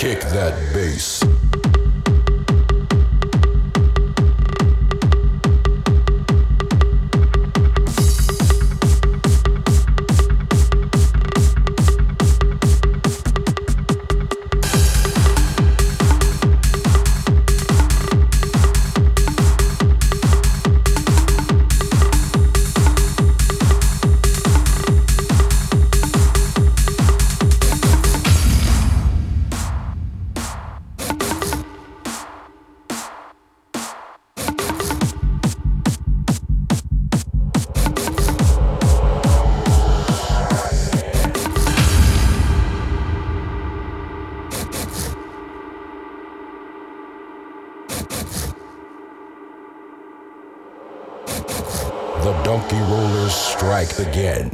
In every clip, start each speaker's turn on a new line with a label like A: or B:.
A: Kick that bass. The donkey rollers strike again.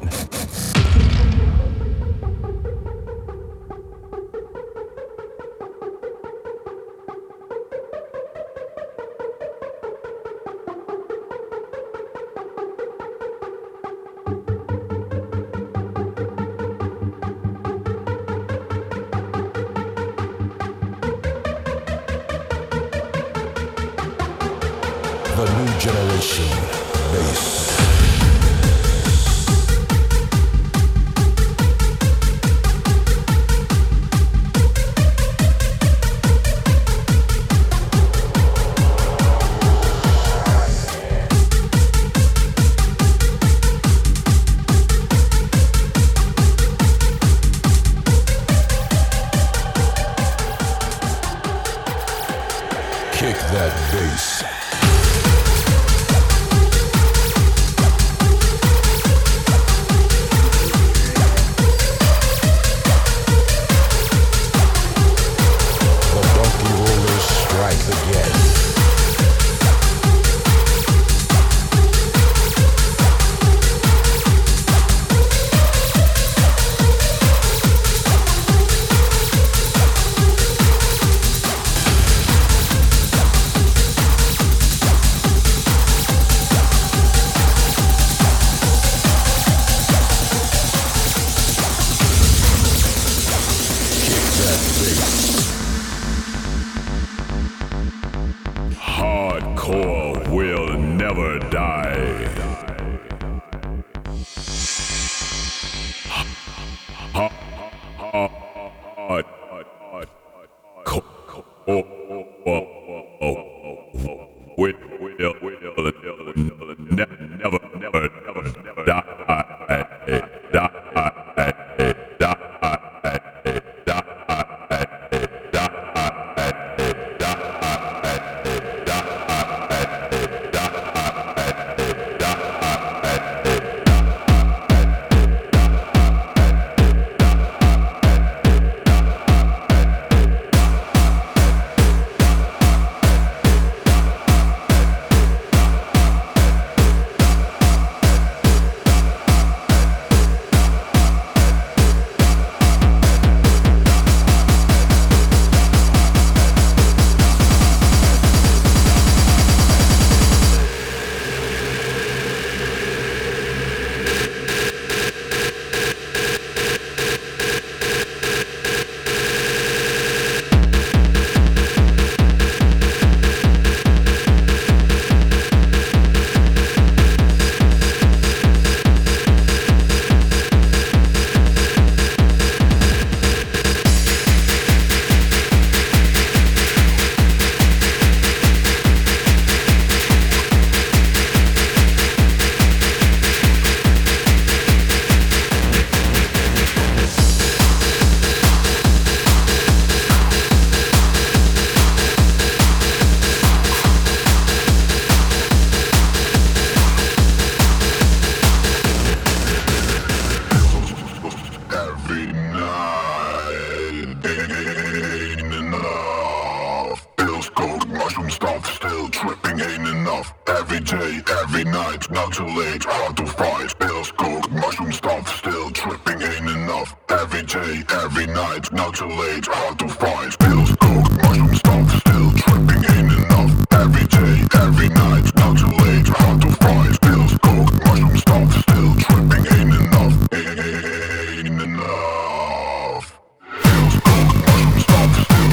A: The new generation bass. Kick that bass.
B: Hardcore will never die. Never
C: Every night, not too late, hard to fight. Pills, coke, mushroom stuff, still tripping ain't enough. Every day, every night, not too late, hard to fight. Pills, coke, mushroom stuff, still tripping ain't enough. Every day, every night, not too late, hard to fight. Pills, coke, mushroom stuff, still tripping ain't enough. Ain't enough. Pills, coke, mushroom stuff, still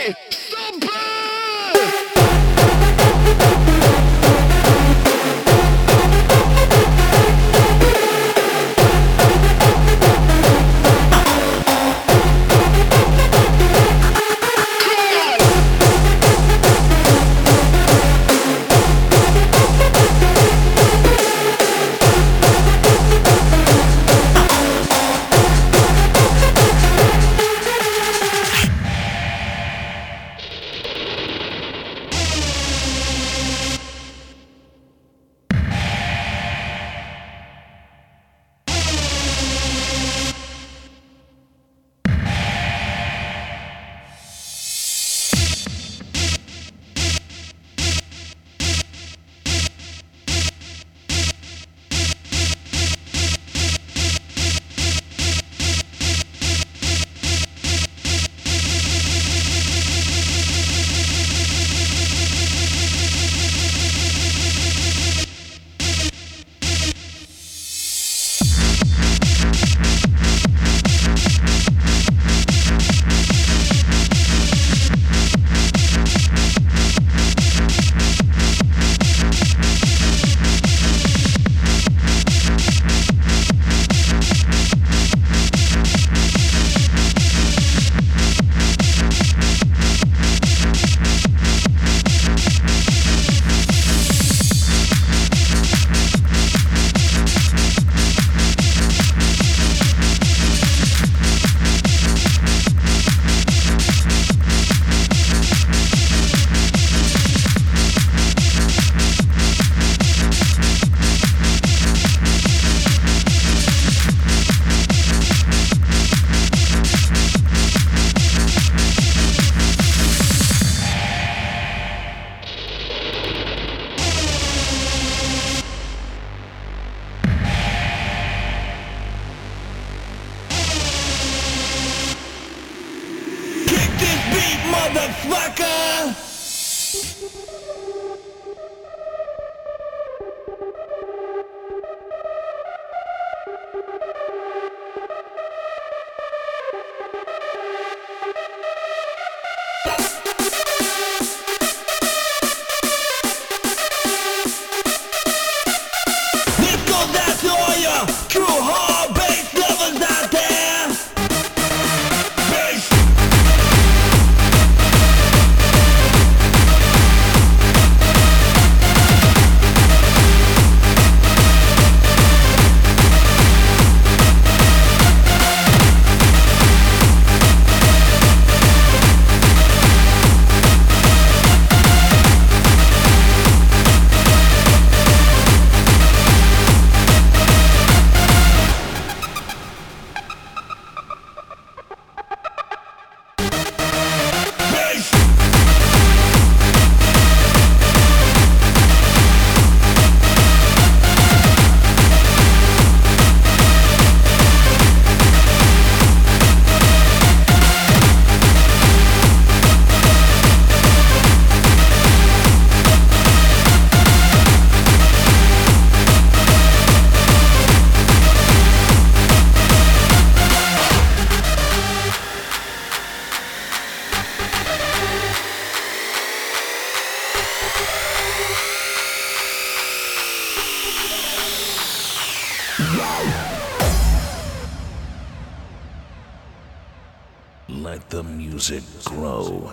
D: Let the music grow.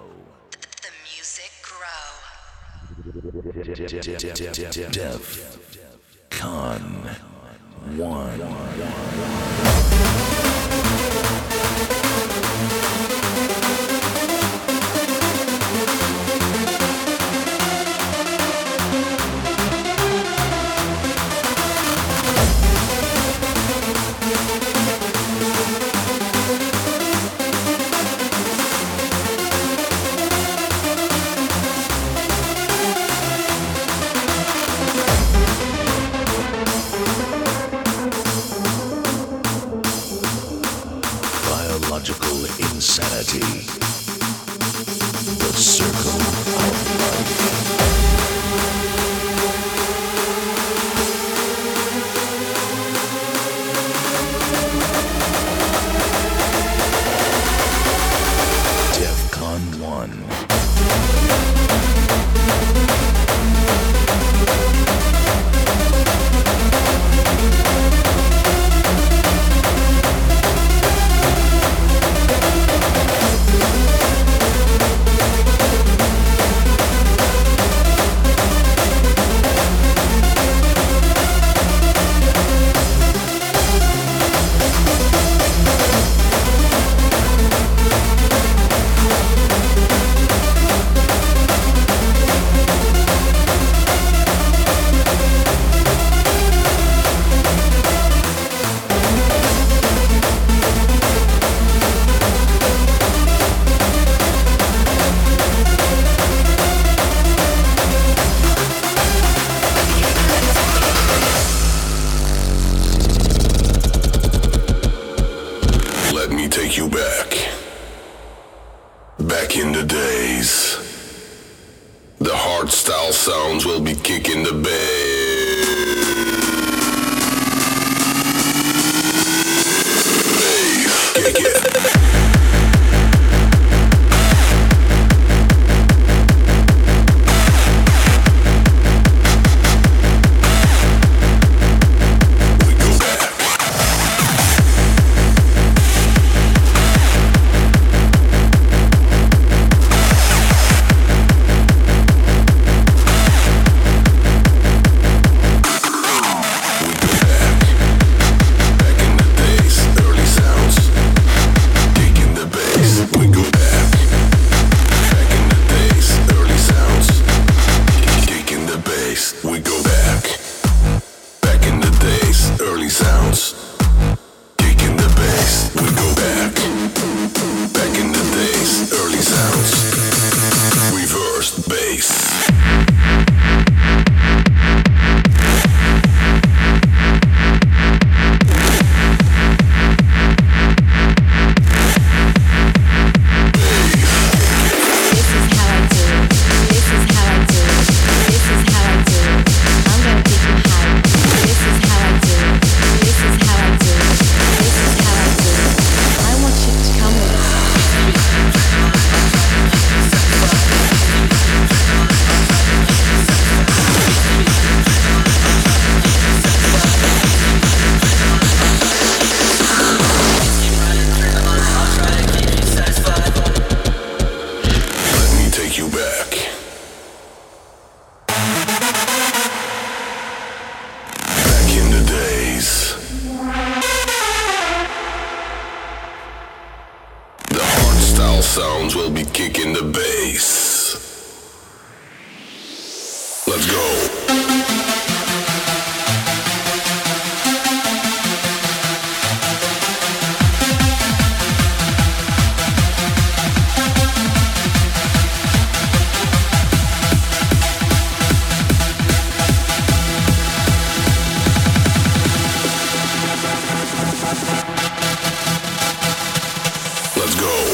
E: The music grow.
D: Def Con 1. Biological insanity. The circle of life. DEFCON 1.
C: Back in the days, the hardstyle sounds will be kicking the bass. Kick it. Sounds will be kicking the bass. Let's go. Let's go.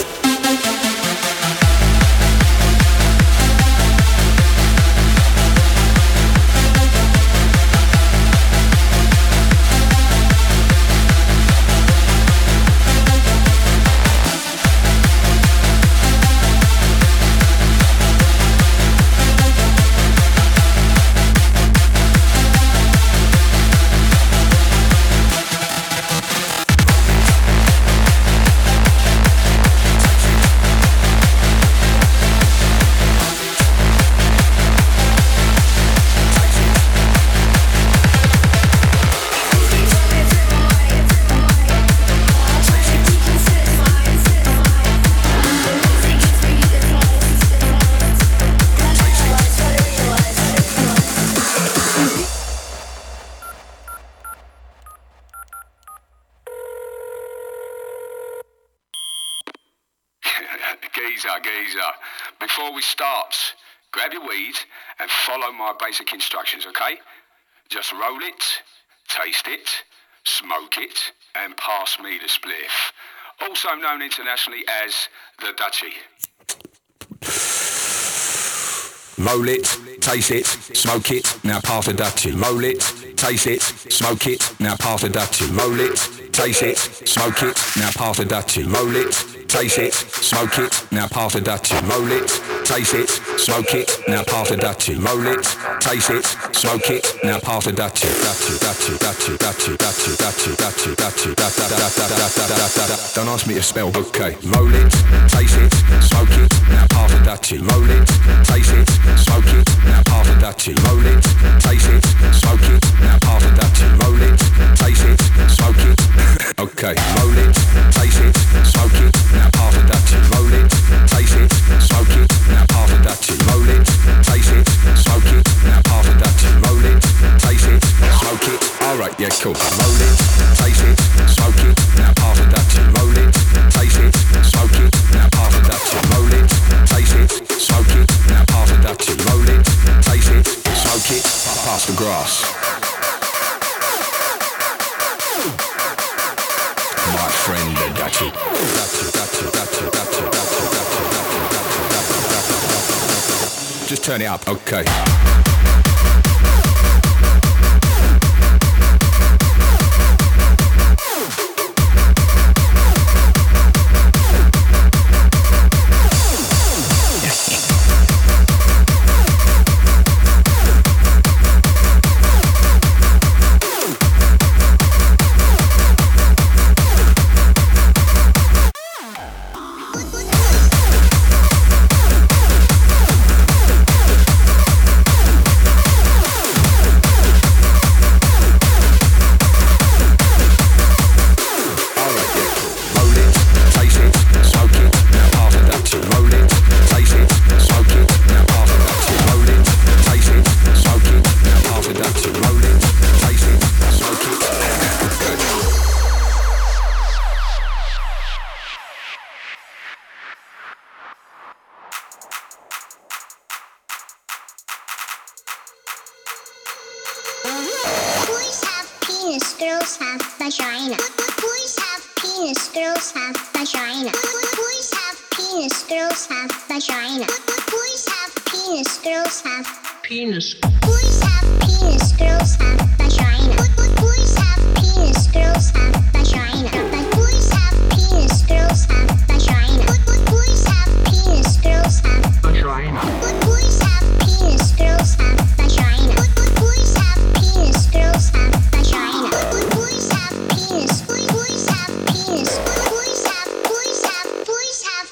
F: Geezer. Before we start, grab your weed and follow my basic instructions, okay? Just roll it, taste it, smoke it, and pass me the spliff. Also known internationally as the Dutchie.
G: Roll it, taste it, smoke it, now pass the Dutchie. Roll it, taste it, smoke it, now pass the Dutchie. Roll it, taste it, smoke it, now pass the Dutchie. Roll it, taste it, smoke it, now pass the Dutchie. Roll it, taste it, smoke it, now pass the Dutchie. Roll it, taste it, smoke it, now pass the Dutchie. Dutchie. Don't ask me to spell, okay. Roll it, taste it, smoke it, now pass the Dutchie. Roll it, taste it, smoke it, now pass the Dutchie. Roll it, taste it, smoke it, now pass the Dutchie. Roll it, taste it, smoke it. Okay, roll it, taste it, smoke it, now pass the Dutchie. Roll it, taste it, smoke it, now pass the Dutchie. Roll it, taste it, smoke it, now pass the Dutchie. Roll it, taste it, smoke it. Alright, yeah, cool. Roll it, taste it, smoke it, now pass the Dutchie. Roll it, taste it, smoke it, now pass the Dutchie. Roll it, taste it, smoke it, now pass the Dutchie. Roll it, taste it, smoke it, pass the grass. My friend the Dutchie. Just turn it up, okay.
H: Boys have penis, girls have vagina. Boys have penis, girls have vagina. Boys have penis, girls have vagina. Boys have penis, girls have penis. Boys have penis, girls have vagina. Boys have penis, girls have vagina. Boys have penis, girls have vagina. Boys have penis, girls have vagina. Boys have penis, girls have vagina. Boys have penis, girls have vagina. Boys have penis, boys have penis. Boys have.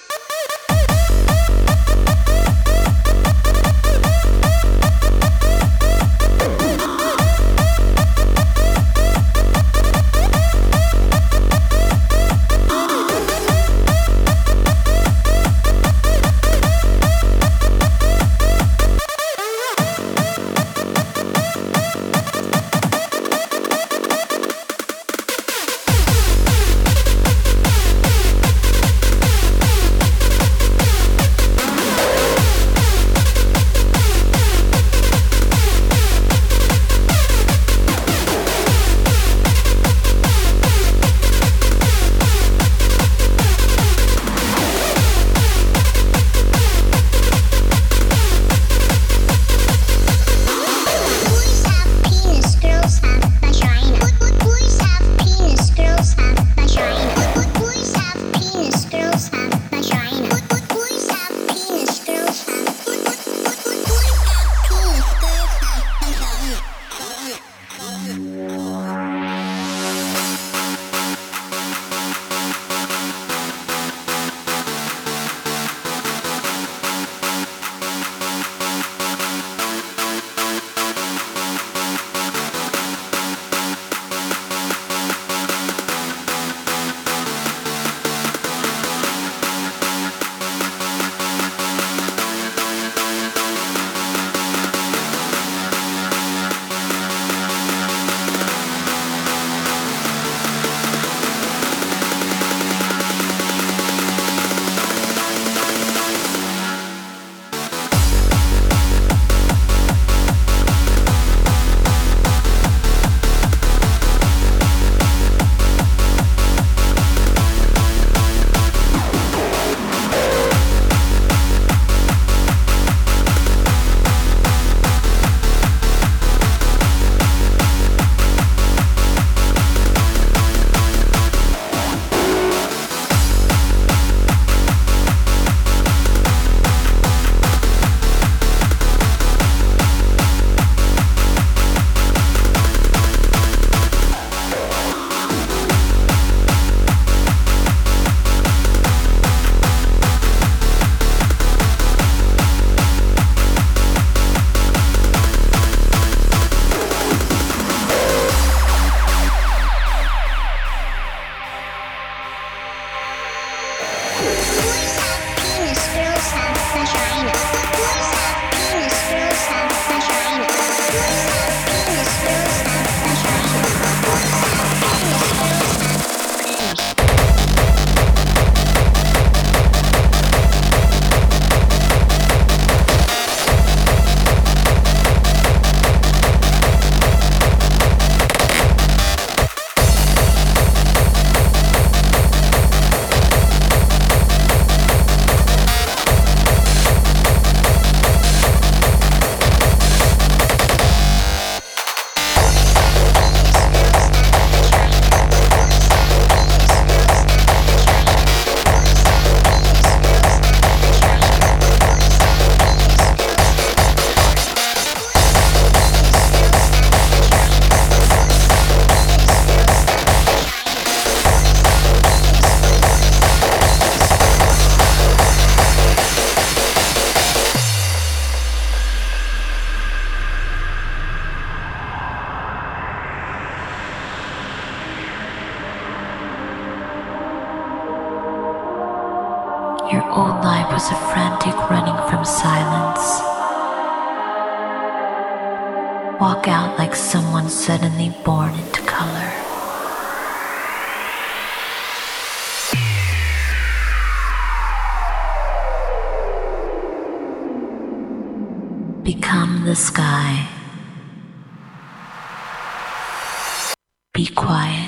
I: mind was a frantic running from silence. Walk out like someone suddenly born into color. Become the sky. Be quiet.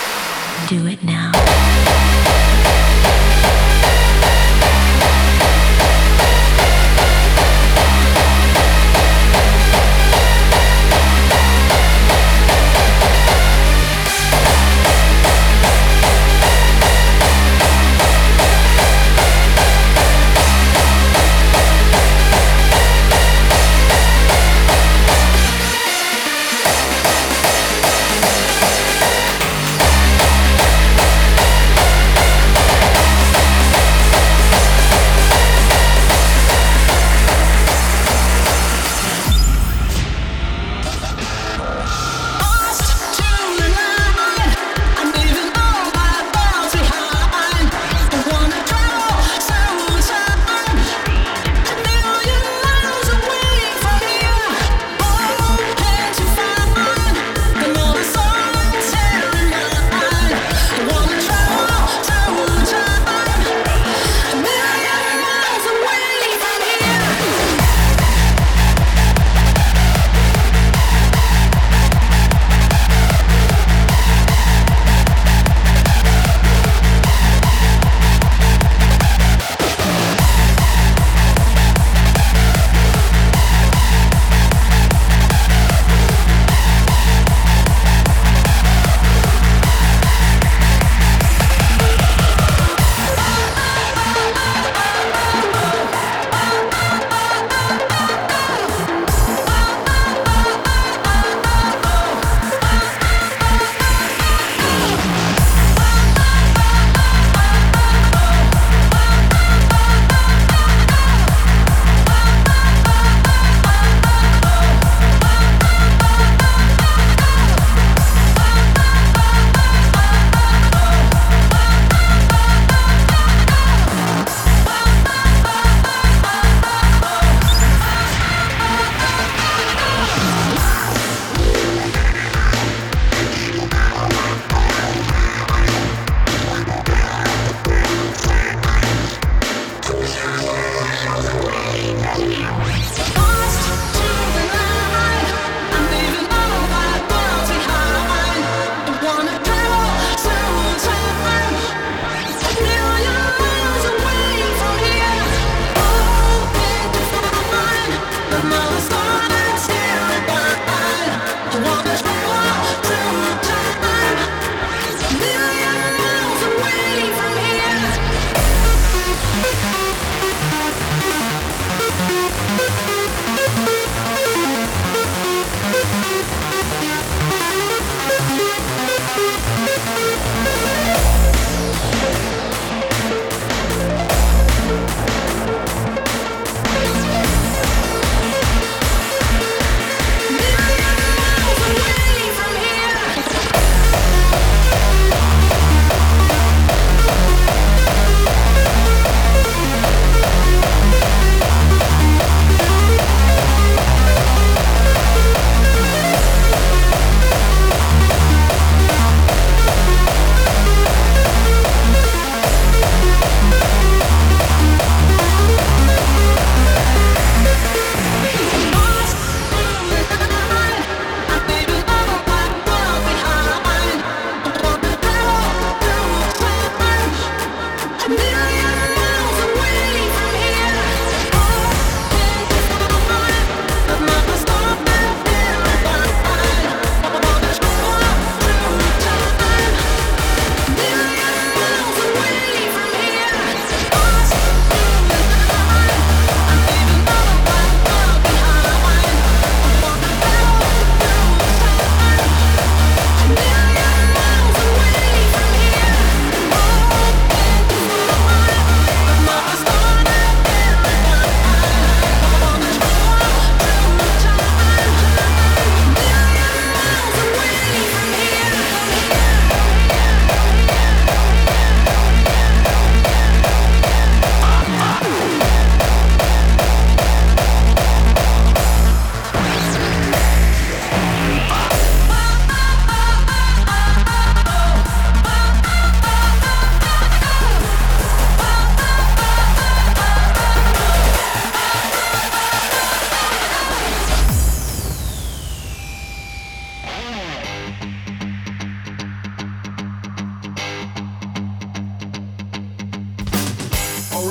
I: Do it now.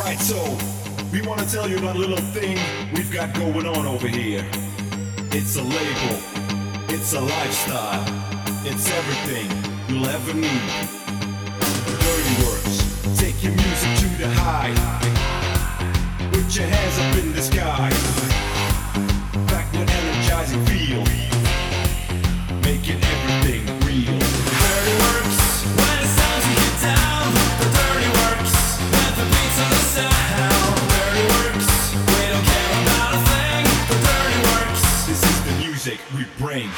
J: So, we want to tell you about a little thing we've got going on over here. It's a label, it's a lifestyle, it's everything you'll ever need. Dirty Works, take your music to the high. Put your hands up in the sky. Back with energizing feel. Making everything real. Dirty Works, when it's time to get down. The Dirty Works, with the beats and the sound. Dirty Works, we don't care about a thing. The Dirty Works, this is the music we bring.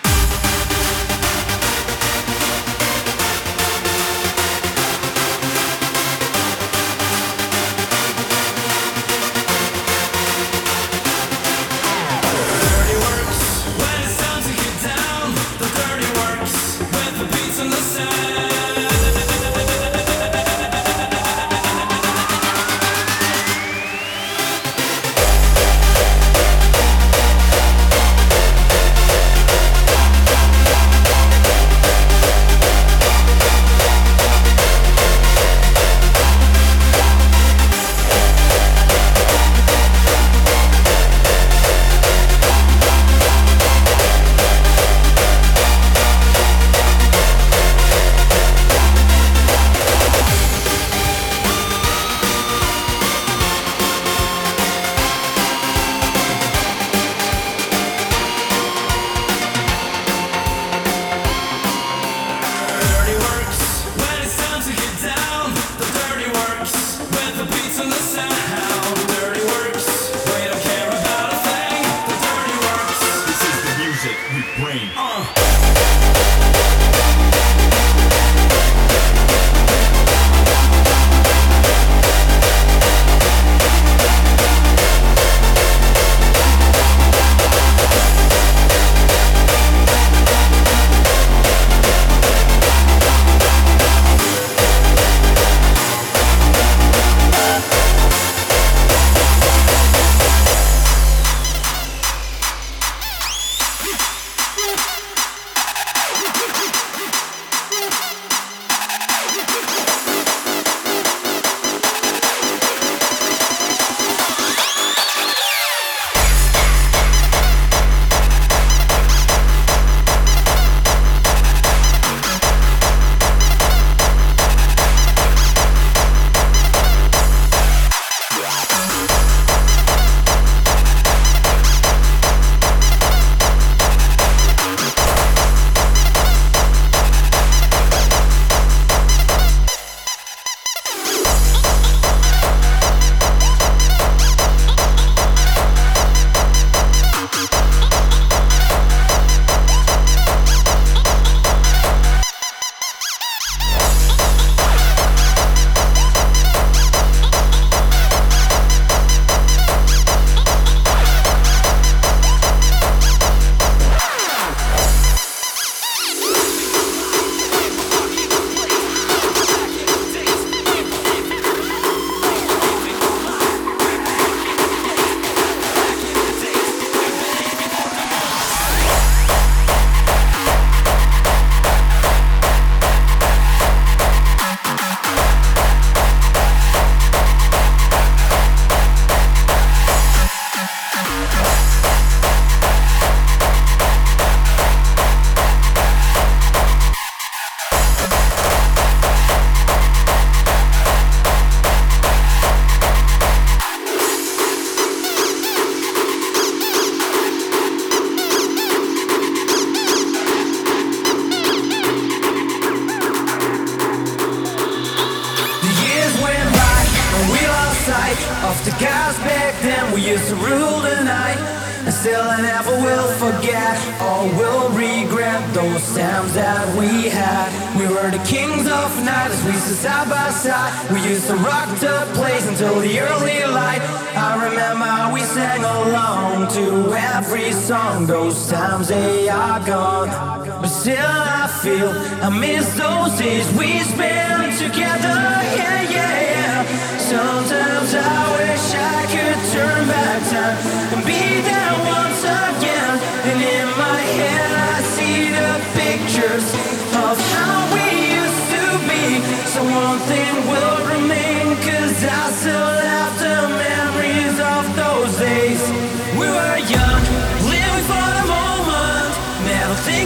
K: Of the guys back then, we used to rule the night. And still I never will forget or will regret those times that we had. We were the kings of night as we stood side by side. We used to rock the place until the early light. I remember how we sang along to every song. Those times they are gone, but still I feel I miss those days we spent together. Yeah, yeah, yeah. Sometimes I wish I could turn back time and be there once again. And in my head I see the pictures of how we used to be. So one thing will remain, 'cause I still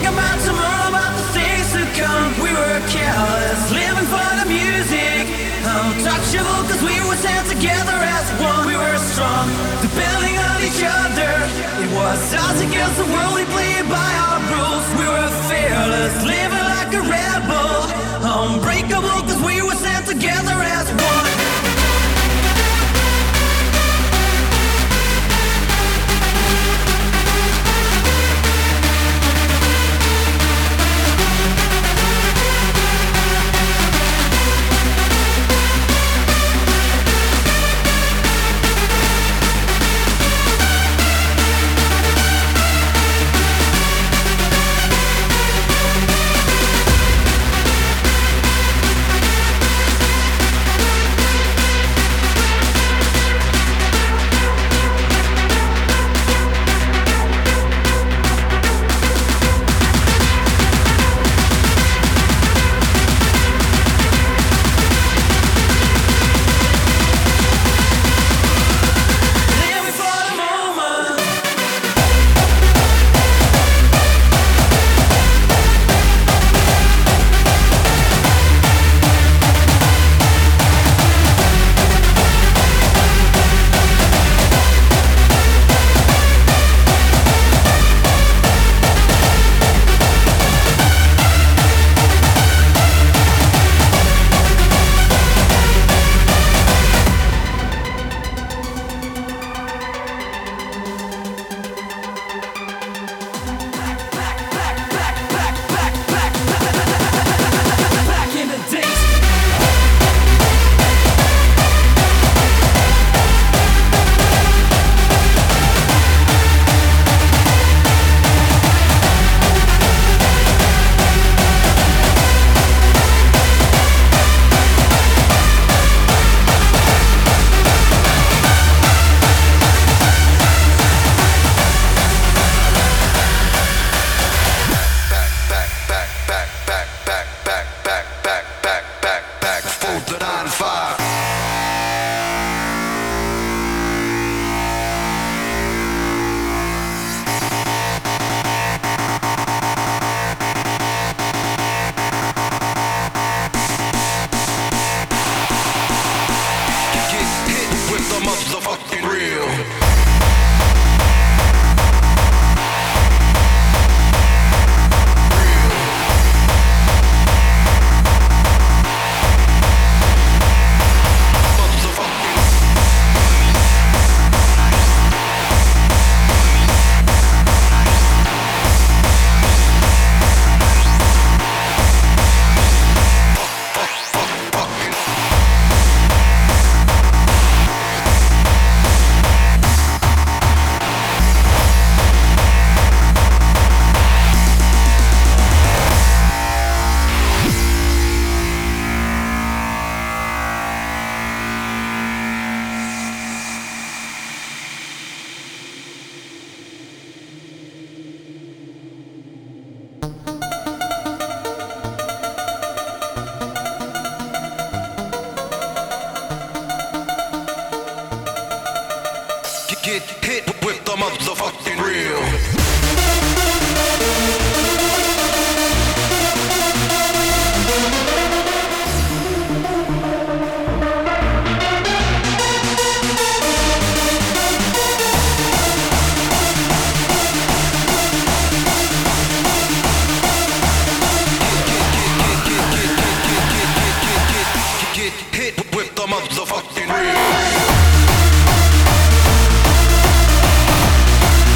K: about tomorrow, about the things to come. We were careless, living for the music. Untouchable cause we were sent together as one. We were strong, depending on each other. It was us against the world, we played by our rules. We were fearless, living like a rebel. Unbreakable cause we were sent together as one.
G: Get hit with the motherfucking real. Get hit with the motherfucking real.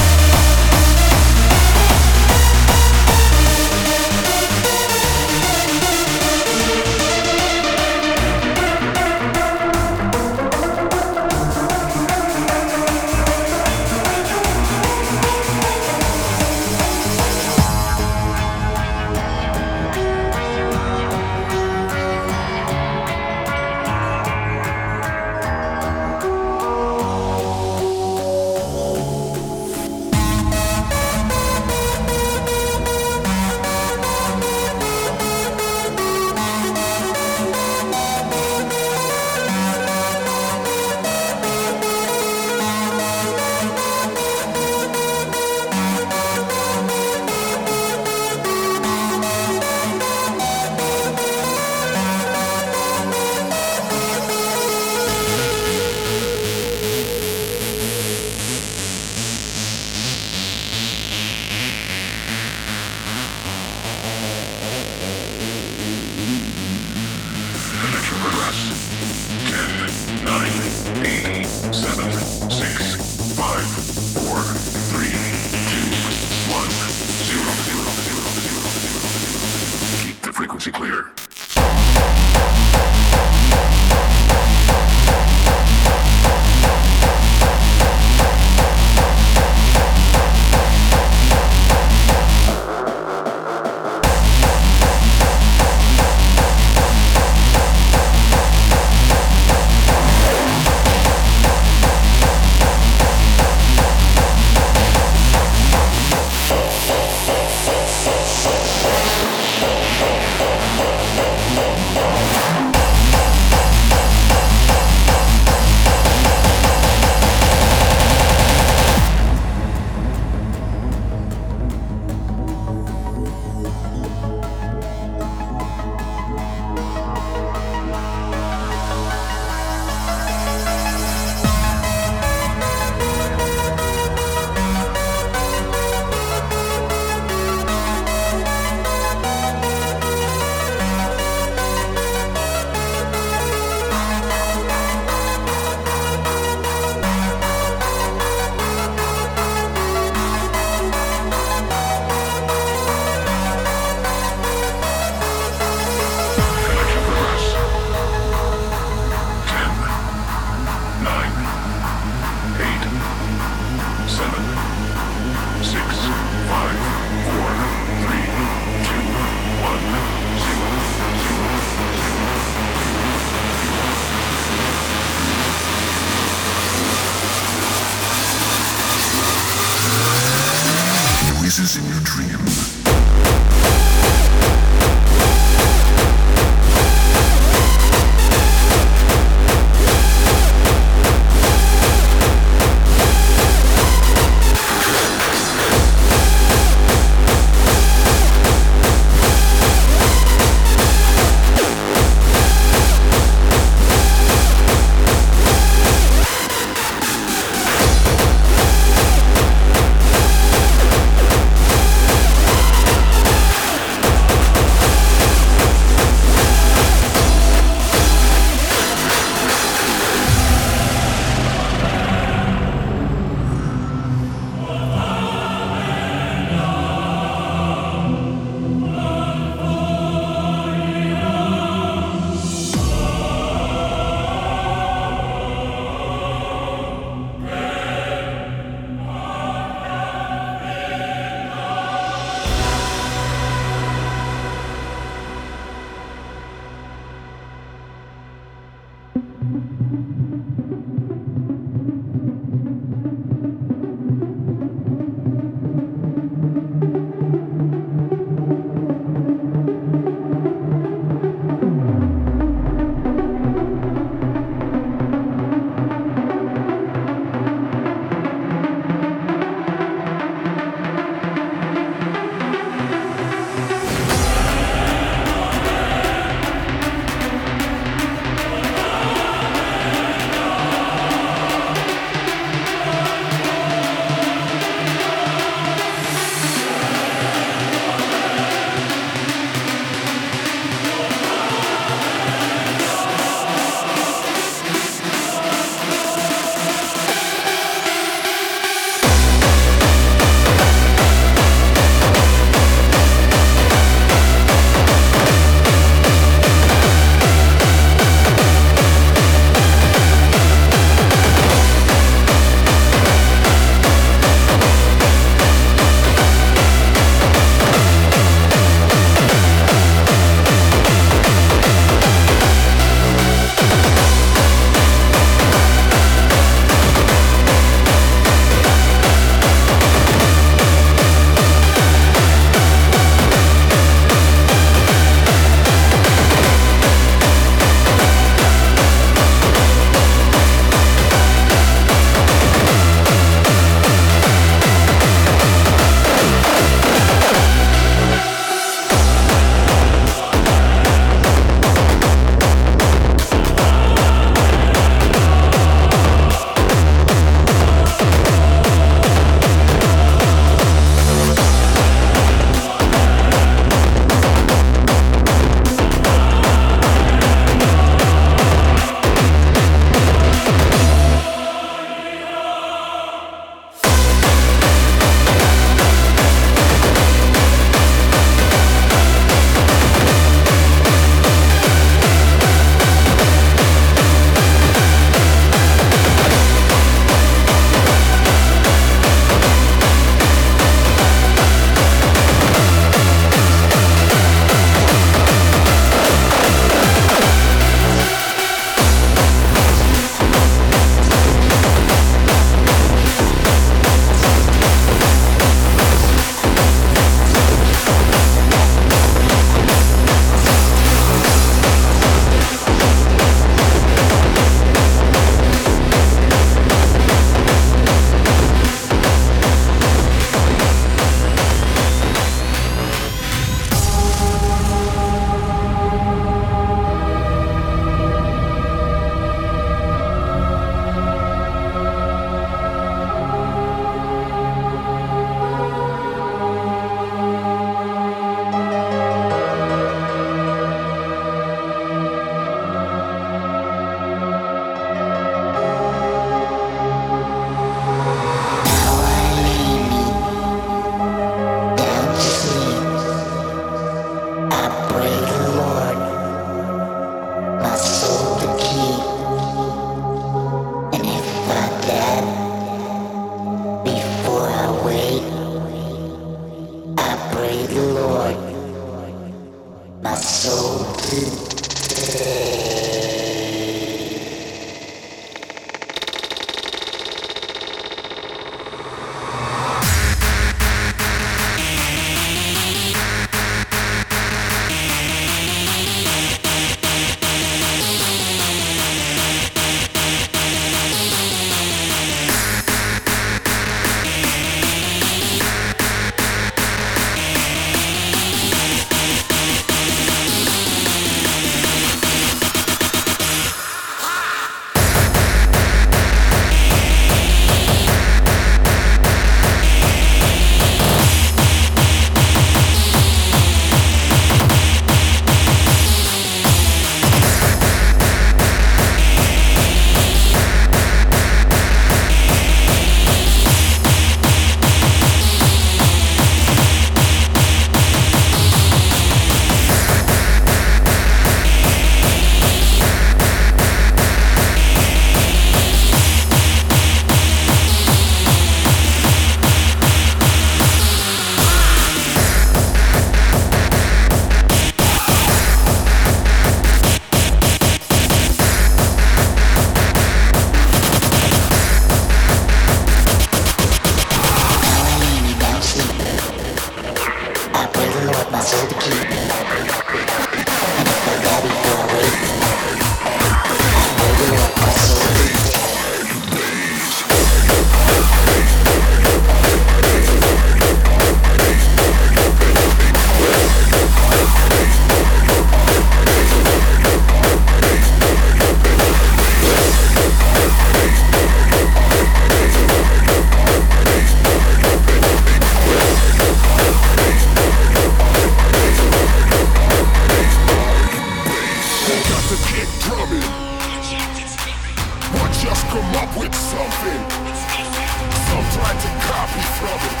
C: come up with something. Some try to copy from it.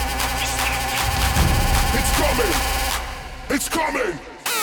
C: It's coming. It's coming.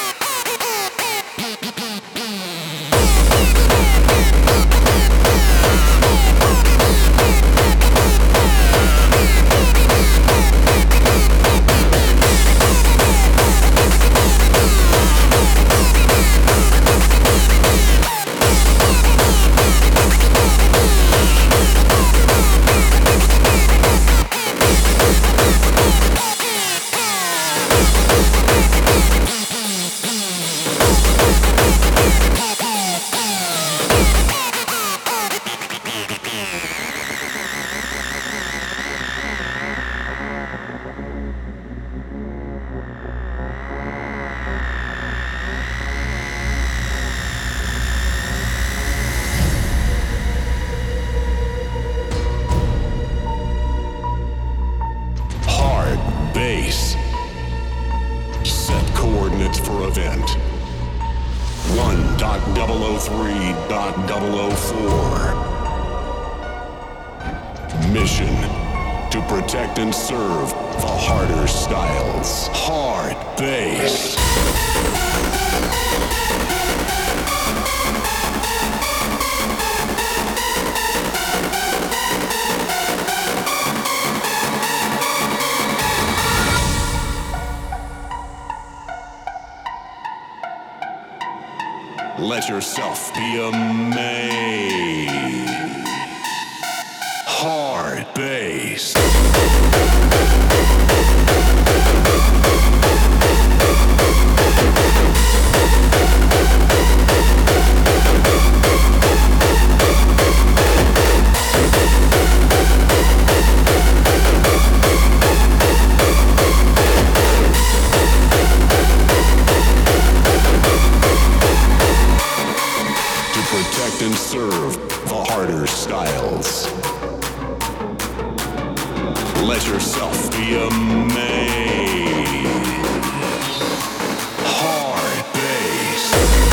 B: for event 1.003.004. Mission to protect and serve the harder styles. Hard bass. Let yourself be amazed. Hard bass. Protect and serve the harder styles. Let yourself be amazed. Hard bass.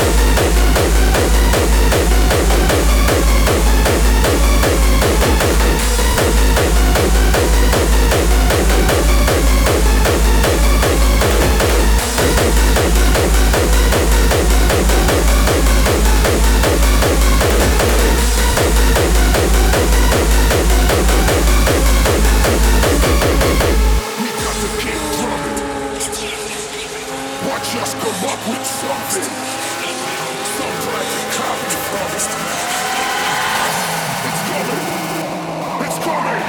C: Just come up with something. Some try to copy from it. It's coming. It's coming.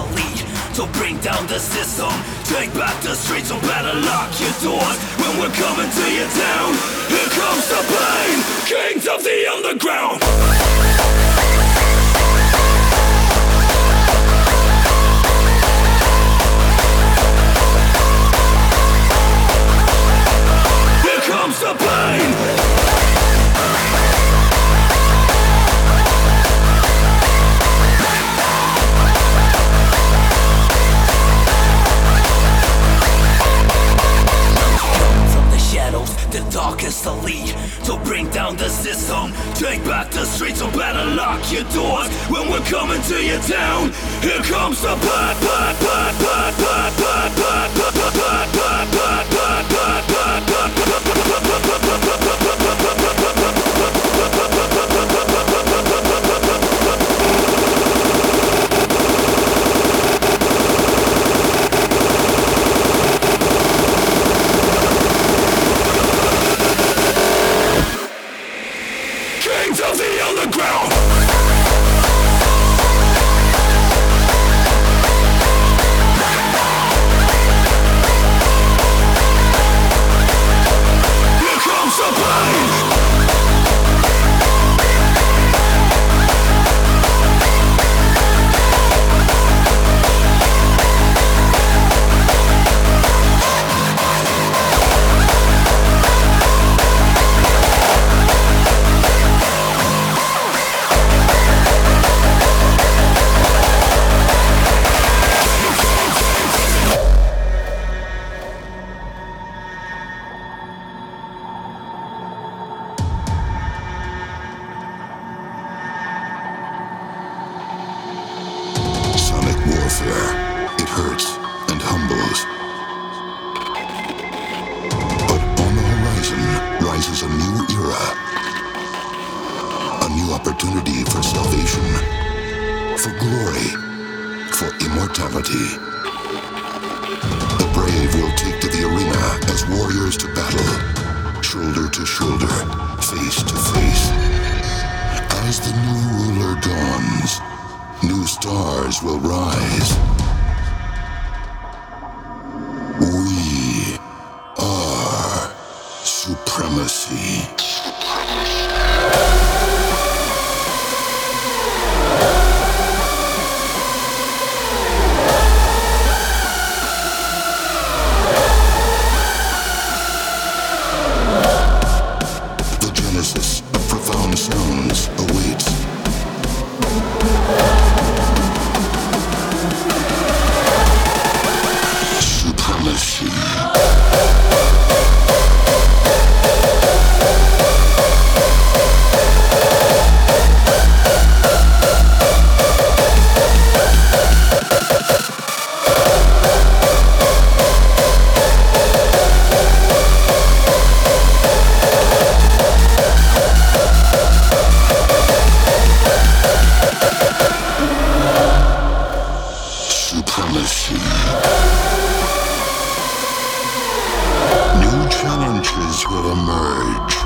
K: elite to bring down the system. Take back the streets, so better lock your doors when we're coming to your town. Here comes the pain, kings of the underground. Here comes the pain. The darkest elite to bring down the system. Take back the streets, so better lock your doors when we're coming to your town. Here comes the of the underground. Here comes the pain.
C: It hurts and humbles. But on the horizon rises a new era. A new opportunity for salvation, for glory, for immortality. The brave will take to the arena as warriors to battle, shoulder to shoulder, face to face. As the new ruler dawns, new stars will rise. We are supremacy. The genesis of profound sounds awaits. Supremacy. New challenges will emerge.